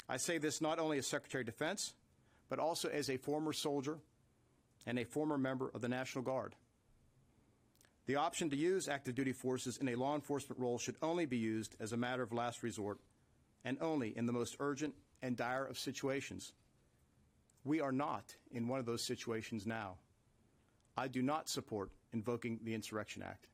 I say this not only as Secretary of Defense, but also as a former soldier and a former member of the National Guard. The option to use active duty forces in a law enforcement role should only be used as a matter of last resort and only in the most urgent and dire of situations. We are not in one of those situations now. I do not support invoking the Insurrection Act.